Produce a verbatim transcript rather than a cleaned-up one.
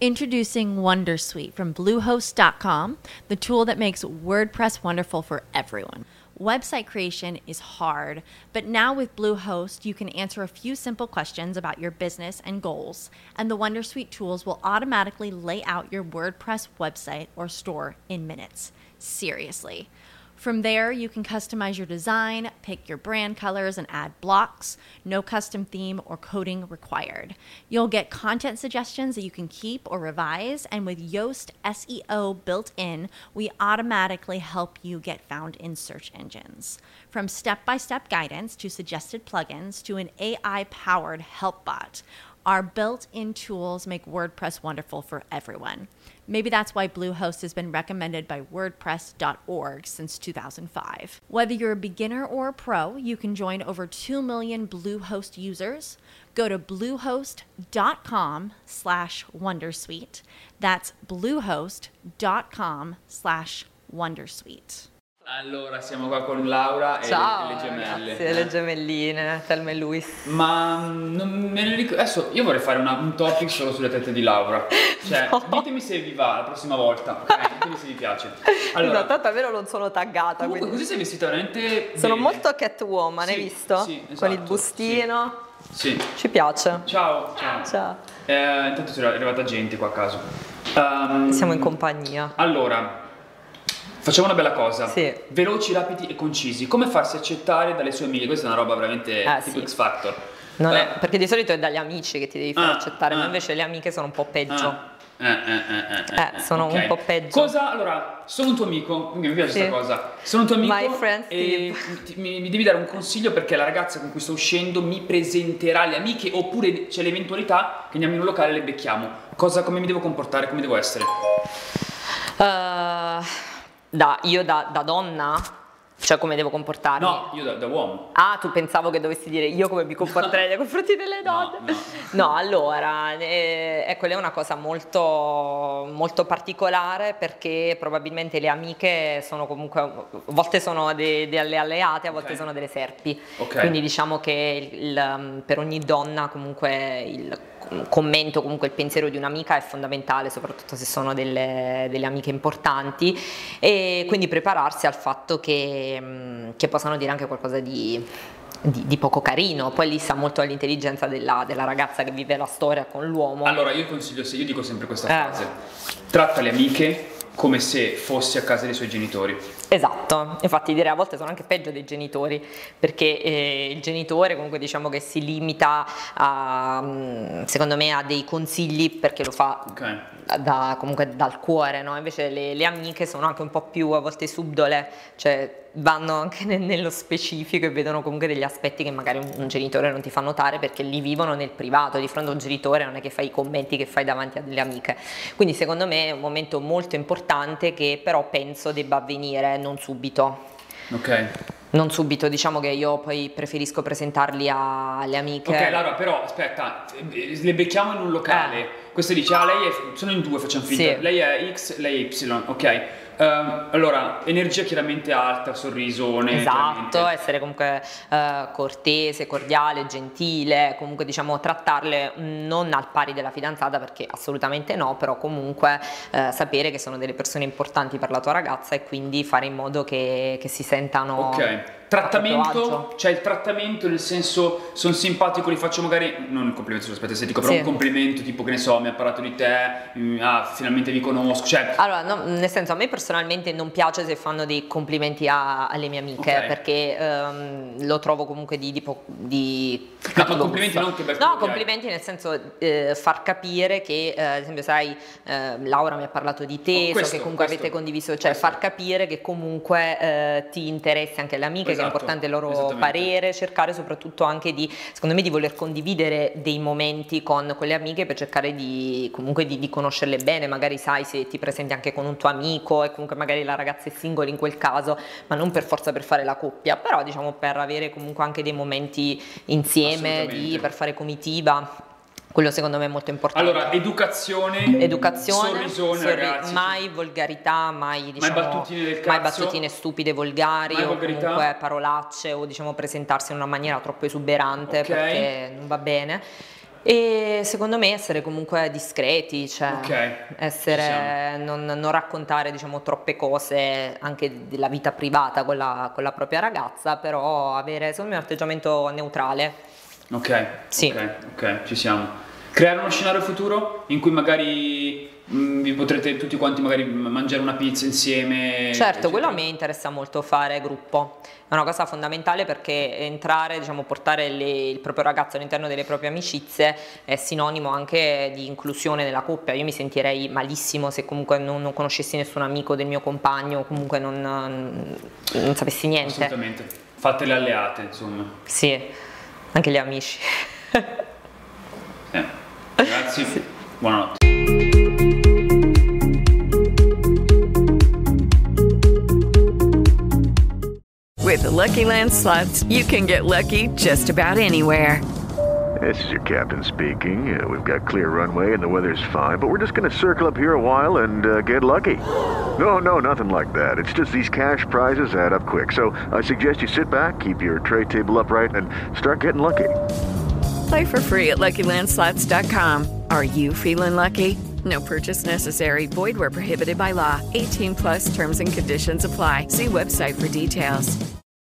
Introducing Wondersuite from Bluehost dot com, the tool that makes WordPress wonderful for everyone. Website creation is hard, but now with Bluehost, you can answer a few simple questions about your business and goals, and the Wondersuite tools will automatically lay out your WordPress website or store in minutes. Seriously. From there, you can customize your design, pick your brand colors, and add blocks. No custom theme or coding required. You'll get content suggestions that you can keep or revise, and with Yoast S E O built in, we automatically help you get found in search engines. From step-by-step guidance to suggested plugins to an A I-powered help bot, our built-in tools make WordPress wonderful for everyone. Maybe that's why Bluehost has been recommended by WordPress dot org since two thousand five. Whether you're a beginner or a pro, you can join over two million Bluehost users. Go to bluehost dot com slash wondersuite. That's bluehost dot com slash wondersuite. Allora, siamo qua con Laura e Ciao, le, le gemelle. Grazie, le gemelline, Thelma e Louise. Ma non me ne ricordo. Adesso io vorrei fare una, un topic solo sulle tette di Laura. Cioè, No. ditemi se vi va la prossima volta, ok? Ditemi se vi piace. Allora, No, tanto a vero non sono taggata, comunque quindi così sei vestita veramente sono bene. molto Catwoman, hai Sì, visto? sì, esatto, Con il bustino. Sì. Ci piace. Ciao, ciao. Ciao. Eh, intanto è arrivata gente qua a caso. Ehm, Siamo in compagnia. Allora, facciamo una bella cosa. Sì. Veloci, rapidi e concisi. Come farsi accettare dalle sue amiche? Questa è una roba veramente Eh, tipo sì. X Factor. Non Eh, è- perché di solito è dagli amici che ti devi far Ah, accettare, ma ah. invece le amiche sono un po' peggio. ah, eh, eh, eh, eh, Eh, sono un po' peggio. Cosa? Allora, sono un tuo amico, quindi mi piace Sì. questa cosa. Sono un tuo amico My friend e ti- mi, mi devi dare un consiglio perché la ragazza con cui sto uscendo mi presenterà le amiche oppure c'è l'eventualità che andiamo in un locale e le becchiamo. Cosa, come mi devo comportare, come devo essere? Eh, da, io da, da donna? Cioè come devo comportarmi? No, io da, da uomo. Ah, tu pensavo che dovessi dire io come mi comporterei nei confronti delle donne? No, No, allora, eh, ecco, lei è una cosa molto, molto particolare perché probabilmente le amiche sono comunque, a volte sono de- delle alleate, a volte Ok. sono delle serpi. Ok. Quindi diciamo che il- il- per ogni donna comunque il commento, comunque il pensiero di un'amica è fondamentale, soprattutto se sono delle, delle amiche importanti, e quindi prepararsi al fatto che, mh, che possano dire anche qualcosa di, di- di poco carino. Poi lì sta molto all'intelligenza della, della ragazza che vive la storia con l'uomo. Allora, io consiglio, se io dico sempre questa Eh. frase: tratta le amiche come se fossi a casa dei suoi genitori. Esatto, infatti direi a volte sono anche peggio dei genitori, perché eh, il genitore comunque diciamo che si limita a, mm, secondo me, a dei consigli perché lo fa Ok. da, comunque dal cuore, no? Invece le, le amiche sono anche un po' più a volte subdole, cioè vanno anche ne- nello specifico e vedono comunque degli aspetti che magari un, un genitore non ti fa notare perché li vivono nel privato, di fronte a un genitore non è che fai i commenti che fai davanti a delle amiche. Quindi secondo me è un momento molto importante che però penso debba avvenire non subito. Ok. Non subito, diciamo che io poi preferisco presentarli a- alle amiche. Ok, Laura, però aspetta, eh, le becchiamo in un locale. Questa dice, ah, lei è, sono in due, facciamo finta. Sì. Lei è X, lei è Y, ok. Ehm, allora, energia chiaramente alta, sorrisone. Esatto, chiaramente. essere comunque eh, cortese, cordiale, gentile, comunque diciamo trattarle mm, non al pari della fidanzata perché assolutamente no, però comunque eh, sapere che sono delle persone importanti per la tua ragazza e quindi fare in modo che, che si sentano Ok. a proprio Trattamento, agio. cioè il trattamento nel senso, sono simpatico, li faccio magari, non un complimento sull'aspetto estetico, però Sì. un complimento tipo che ne so, mi ha parlato di te, mm, ah, finalmente vi conosco, cioè... Allora, no, nel senso, a me personalmente non piace se fanno dei complimenti a- alle mie amiche Ok. perché ehm, lo trovo comunque di, di, po- di No, ma cattivo complimenti gusto. non che per No, quello che hai. complimenti nel senso eh, far capire che, eh, ad esempio, sai, eh, Laura mi ha parlato di te, Oh, so questo, che comunque questo, avete condiviso, cioè questo. far capire che comunque eh, ti interessi anche alle amiche, che Esatto, è importante il loro esattamente. parere, cercare soprattutto anche di, secondo me, di voler condividere dei momenti con quelle amiche per cercare di comunque di, di conoscerle bene, magari sai se ti presenti anche con un tuo amico e comunque magari la ragazza è single in quel caso, ma non per forza per fare la coppia, però diciamo per avere comunque anche dei momenti insieme, di, Assolutamente. per fare comitiva. Quello secondo me è molto importante. Allora, educazione, Educazione, sorrisone, sorri- ragazzi. mai volgarità, mai, diciamo, battutine del mai cazzo. battutine stupide, volgari Mai o volgarità. comunque parolacce o diciamo presentarsi in una maniera troppo esuberante Ok. perché non va bene. E secondo me essere comunque discreti, cioè Ok, essere, non, non raccontare diciamo troppe cose anche della vita privata con la, con la propria ragazza, però avere secondo me un atteggiamento neutrale. Ok, Sì. ok, ok, ci siamo. Creare uno scenario futuro in cui magari mh, vi potrete tutti quanti magari mangiare una pizza insieme. Certo, eccetera. quello a me interessa molto fare gruppo, è una cosa fondamentale perché entrare, diciamo, portare le- il proprio ragazzo all'interno delle proprie amicizie è sinonimo anche di inclusione nella coppia. Io mi sentirei malissimo se comunque non, non conoscessi nessun amico del mio compagno o comunque non, non sapessi niente. Assolutamente. Fate le alleate, insomma. Sì, anche gli amici. Eh. Ragazzi, buonanotte. With the Lucky Land Slots, you can get lucky just about anywhere. This is your captain speaking. Uh, we've got clear runway and the weather's fine, but we're just going to circle up here a while and uh, get lucky. No, no, nothing like that. It's just these cash prizes add up quick. So I suggest you sit back, keep your tray table upright, and start getting lucky. Play for free at Lucky Land Slots dot com. Are you feeling lucky? No purchase necessary. Void where prohibited by law. eighteen plus terms and conditions apply. See website for details.